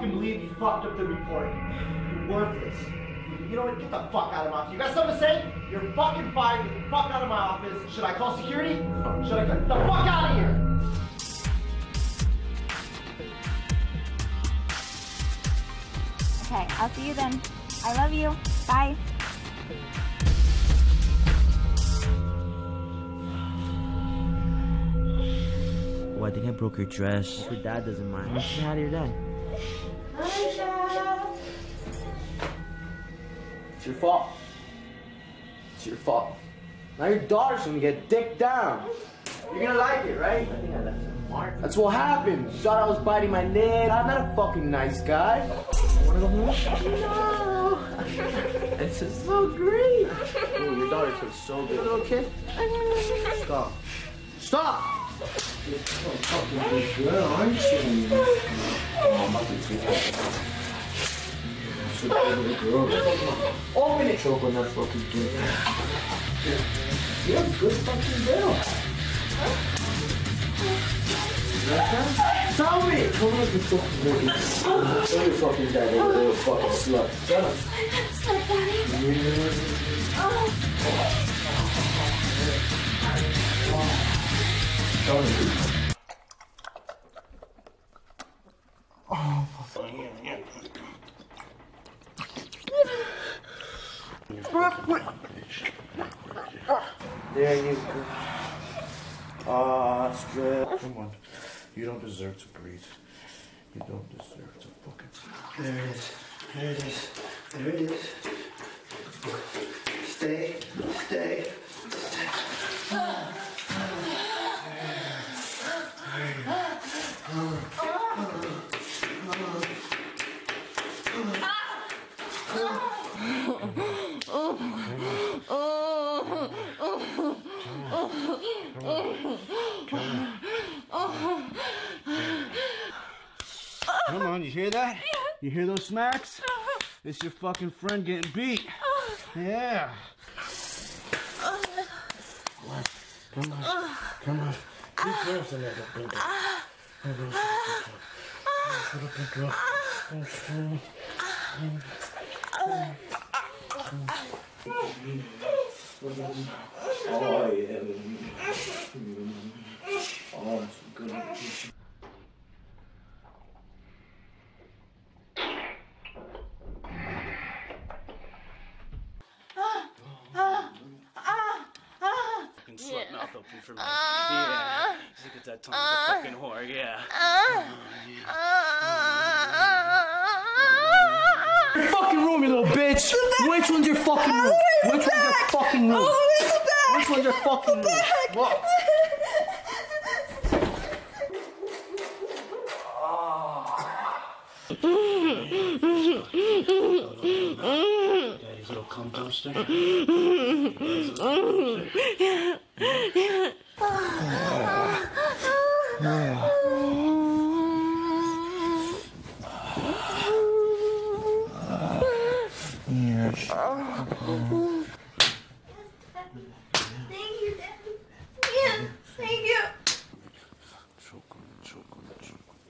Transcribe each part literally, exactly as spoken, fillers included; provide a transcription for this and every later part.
fucking believe you fucked up the report. You're worthless. You know what? Get the fuck out of my office. You got something to say? You're fucking fired. Get the fuck out of my office. Should I call security? Should I get the fuck out of here? Okay, I'll see you then. I love you. Bye. Oh, I think I broke your dress. Hope your dad doesn't mind. Let's say hi to your dad. Hi, Dad. It's your fault. It's your fault. Now your daughter's gonna get dicked down. You're gonna like it, right? I think I left a mark. That's what happened. You thought I was biting my neck. I'm not a fucking nice guy. Wanna go home? No. This is so great. Oh, your daughter feels so good. Little kid. Stop. Stop. You're so fucking big girl, aren't you? Oh, I'm about to take it. Such a little girl. Open it. Choke on that fucking kid. You're a good fucking girl. Tell me! Come on, you fucking baby. Tell your fucking dad, you little fucking slut. Tell him. Slut, Daddy. Tell him. Oh, there you go. Ah, that's good. Come on. You don't deserve to breathe. You don't deserve to fucking... There it is. There it is. There it is. Stay. Stay. Stay. Come on, you hear that? You hear those smacks? It's your fucking friend getting beat. Yeah. Come on. Come on. Be careful, little baby. Little big girl. Oh, yeah. Oh, that's good. Slut mouth open for me. Yeah. Look at that tongue of the fucking whore, yeah. Oh, yeah. Your fucking room, you little bitch! Which one's your fucking room? Which one's your fucking room? Which one's your fucking room? What? Daddy's little cum dumpster. Daddy's little cum dumpster. Yes. Thank you, Dad. Yes, thank you. Choke on it, choke on it, choke on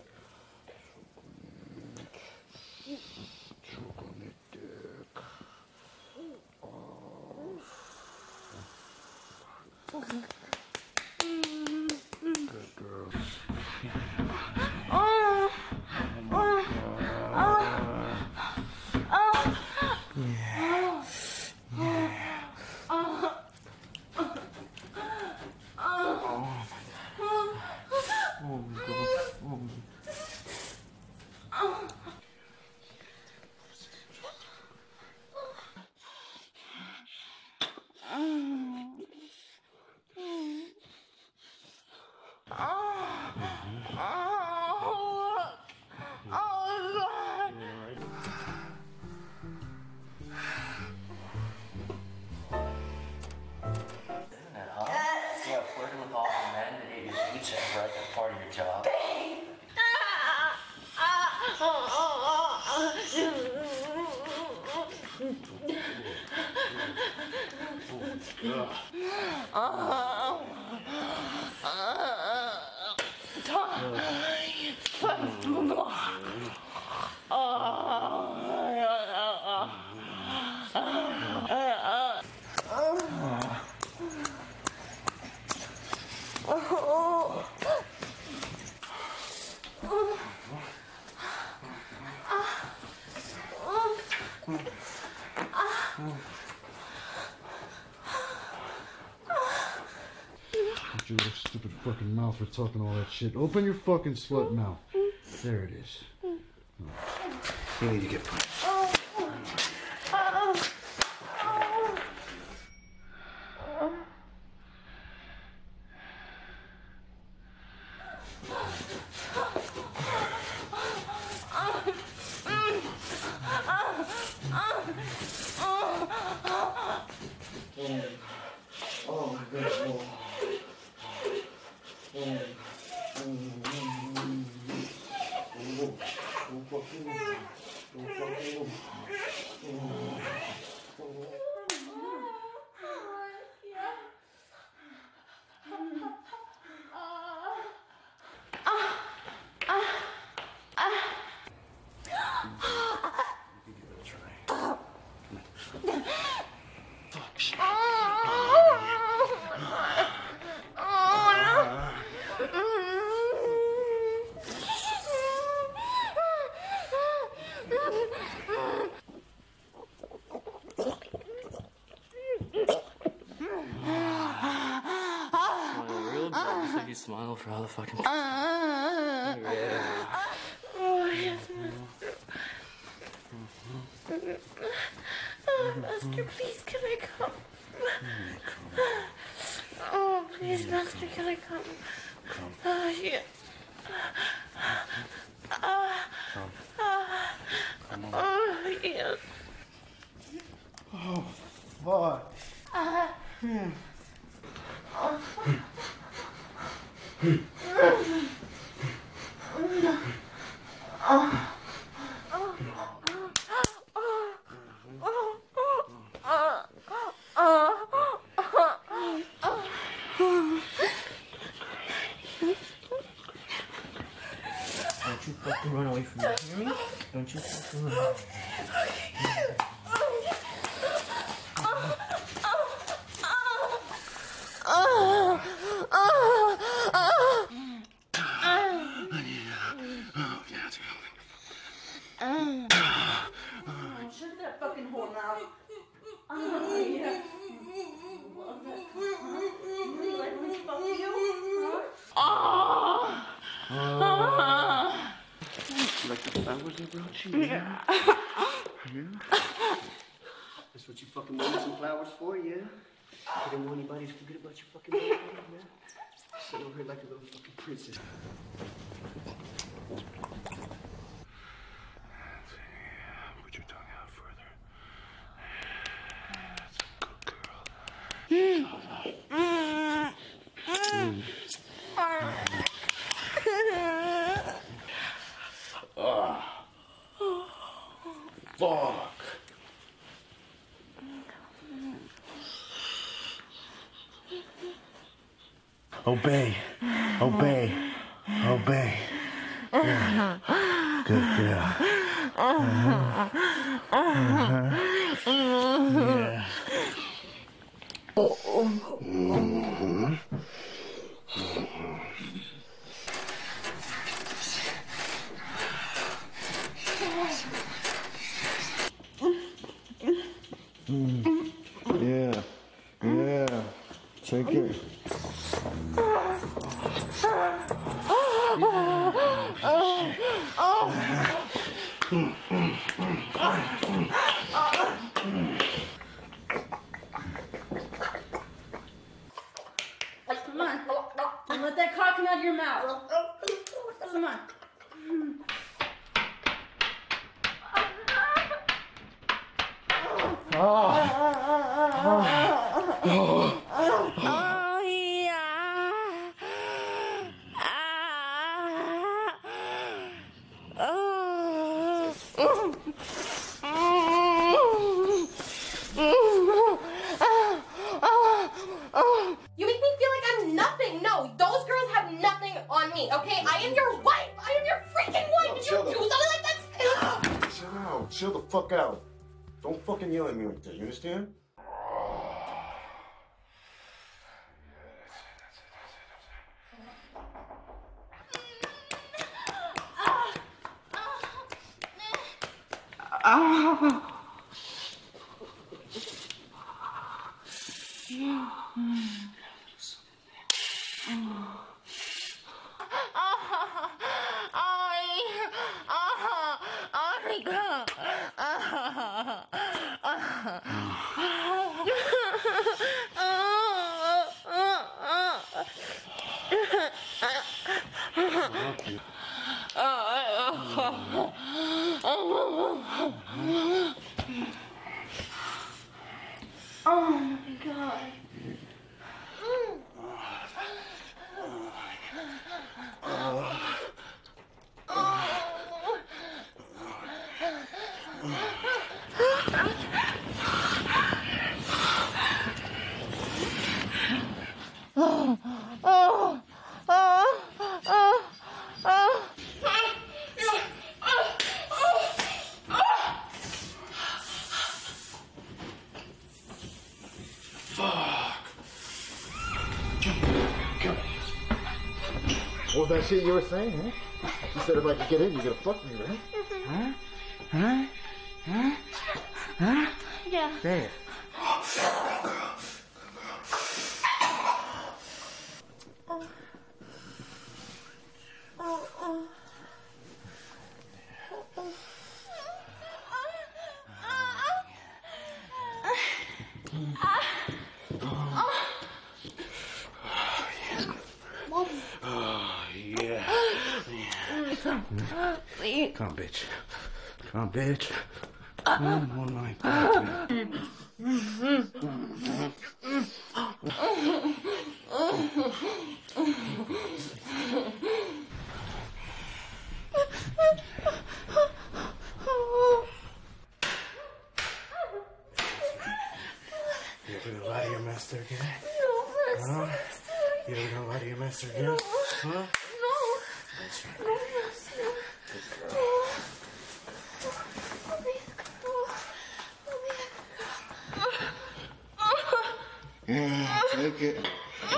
it. Choke on it, dick. Oh. Good girl. Oh. Oh. Oh. Oh. Yeah. Yeah. Oh. Oh my God. Oh my God. Oh my God. Part of your job. Shut your little stupid fucking mouth for talking all that shit. Open your fucking slut mouth. There it is. Oh. You need to get punched. Oh. Oh. Oh. Oh my God. Oh. Oh. Smile for all the fucking. Uh, Yeah. oh, yes, Master. Oh, Master, please, can I come? Oh, please, Master, can I come? Come. Oh, yeah. Come. Come on. Oh, yeah. Oh, fuck. Uh, Hmm. oh. Don't you fucking run away from me, hear me? Don't you fucking run away. Shut that fucking hole now. Oh, yeah. You like when I fuck you? Huh? Oh. You like the flowers I brought you? Yeah. Yeah? That's what you fucking wanted some flowers for, yeah? You didn't want anybody to forget about your fucking birthday, yeah? Sit over here like a little fucking princess. Put your tongue out further. That's a good girl. Fuck. Obey. Obey. Obey. Yeah. Good girl. Uh-huh. Uh-huh. Yeah. Mm-hmm. Mm. Yeah. Yeah. Take it. Come on. Don't let that cock come out of your mouth. Come on. Oh, yeah. Ah. Oh. You make me feel like I'm nothing. No, those girls have nothing on me, okay? I am your wife. I am your freaking wife. Did you do something like that? Chill out. Chill the fuck out. Don't fucking yell at me like that. You understand? Oh my God. What was that shit you were saying, huh? You said if I could get in, you're gonna fuck me, right? Huh? Huh? Huh? Huh? Yeah. Say it. Come, bitch. Come, bitch. Come on my back. You ever gonna lie to your master again? Huh? You ever gonna lie to your master again? Huh? That's right. Good girl. Yeah, take it.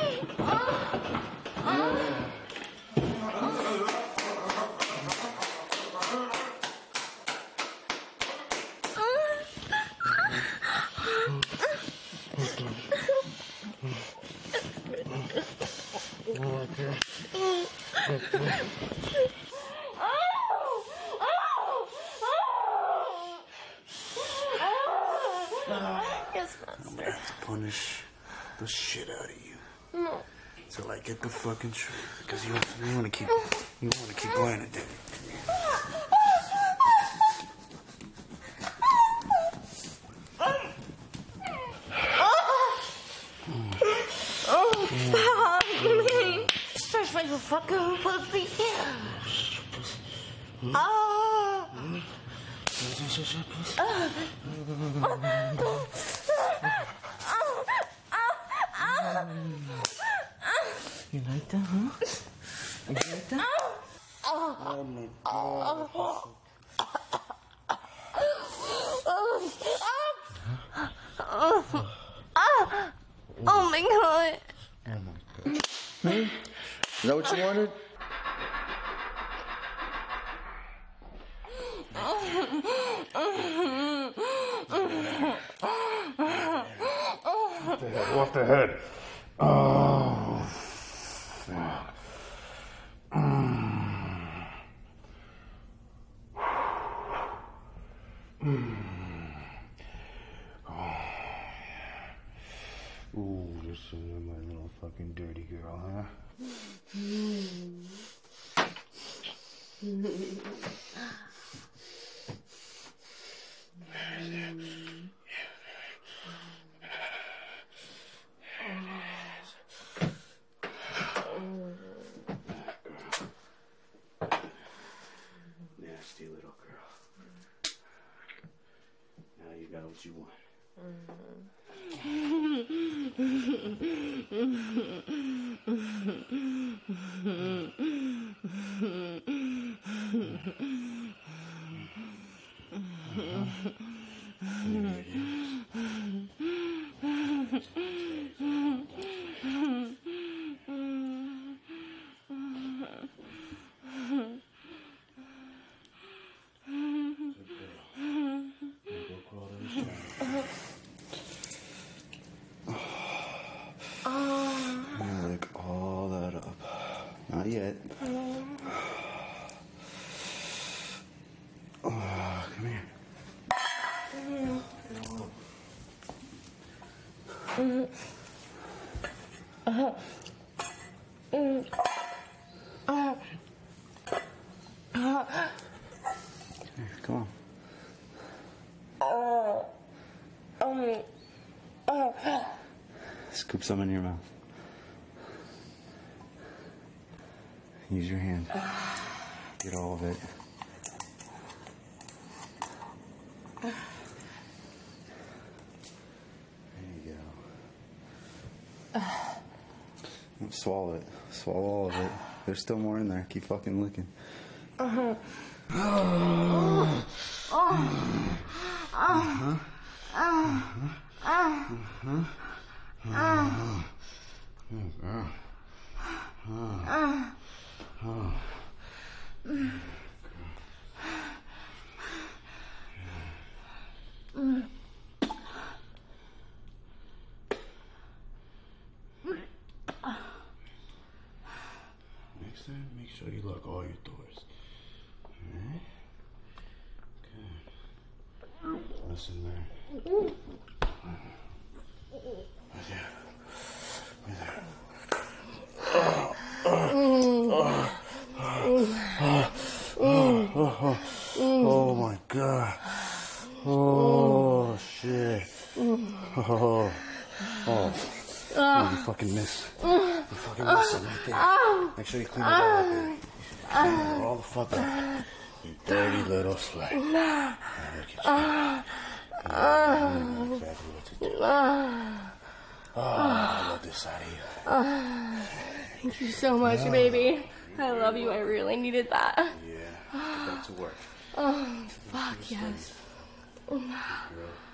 I'm gonna have to punish the shit out of you. No. Till I get the fucking truth. Because you, you wanna keep you wanna keep playing it, dude. Oh, fuck me. Stretch like a fucking pussy. Oh. You like that, huh? You like that? Oh my God. Oh my God. Oh my God. Is that what you wanted? Off the head. Oh. Fuck. Mm. Mm. Oh. Ooh, this is my little fucking dirty girl, huh? Nasty little girl. Now you got what you want. Mm-hmm. Not yet. Oh, come here. Uh-huh. Mm. Uh, uh, Here, come on. uh, um, uh, Scoop some in your mouth. Use your hand. Get all of it. There you go. Don't swallow it. Swallow all of it. There's still more in there. Keep fucking licking. uh-huh. Uh-huh. Uh-huh. Uh-huh. Uh-huh. Next time, make sure you lock all your doors. Alright? Good. Listen there. Right there. Right there. Oh my god. Oh shit. Oh. Oh. Oh, you fucking miss. You fucking miss it right there. Make sure you clean it all up, baby. Clean it all the fuck up. You dirty little slut. Look at you. You know exactly what to do. Oh, I love this side of you. Thank you so much, baby. I love you. I really needed that. Yeah, get back to work. Oh, fuck yes. Girl.